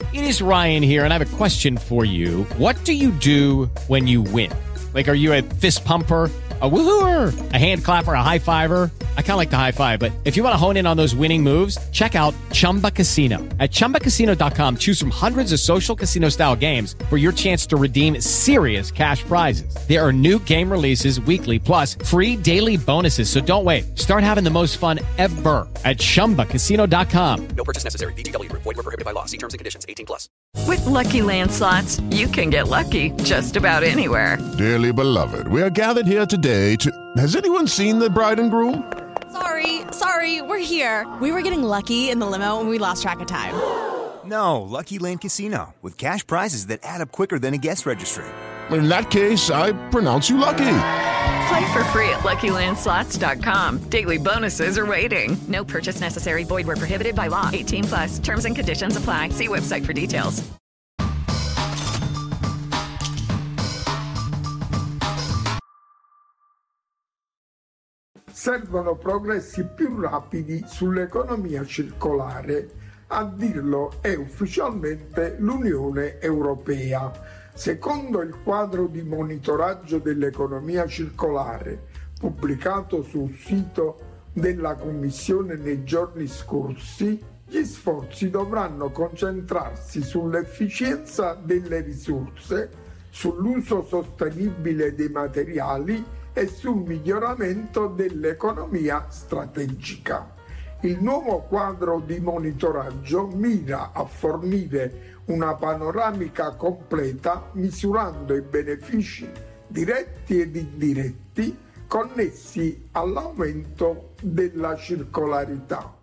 It is Ryan here, and I have a question for you. What do you do when you win? Like, are you a fist pumper, a woohooer, a hand clapper, a high fiver? I kind of like the high five, but if you want to hone in on those winning moves, check out Chumba Casino. At ChumbaCasino.com, choose from hundreds of social casino style games for your chance to redeem serious cash prizes. There are new game releases weekly, plus free daily bonuses. So don't wait. Start having the most fun ever at ChumbaCasino.com. No purchase necessary. VGW Group. Void where prohibited by law. See terms and conditions. 18+. With Lucky Land Slots, you can get lucky just about anywhere. Dearly beloved, we are gathered here today to... Has anyone seen the bride and groom? Sorry, we're here. We were getting lucky in the limo and we lost track of time. No, Lucky Land Casino, with cash prizes that add up quicker than a guest registry. In that case, I pronounce you lucky. Play for free at LuckyLandSlots.com. Daily bonuses are waiting. No purchase necessary. Void where prohibited by law. 18+. Terms and conditions apply. See website for details. Servono progressi più rapidi sull'economia circolare. A dirlo è ufficialmente l'Unione Europea. Secondo il quadro di monitoraggio dell'economia circolare pubblicato sul sito della Commissione nei giorni scorsi, gli sforzi dovranno concentrarsi sull'efficienza delle risorse, sull'uso sostenibile dei materiali e sul miglioramento dell'economia strategica. Il nuovo quadro di monitoraggio mira a fornire una panoramica completa misurando i benefici diretti ed indiretti connessi all'aumento della circolarità.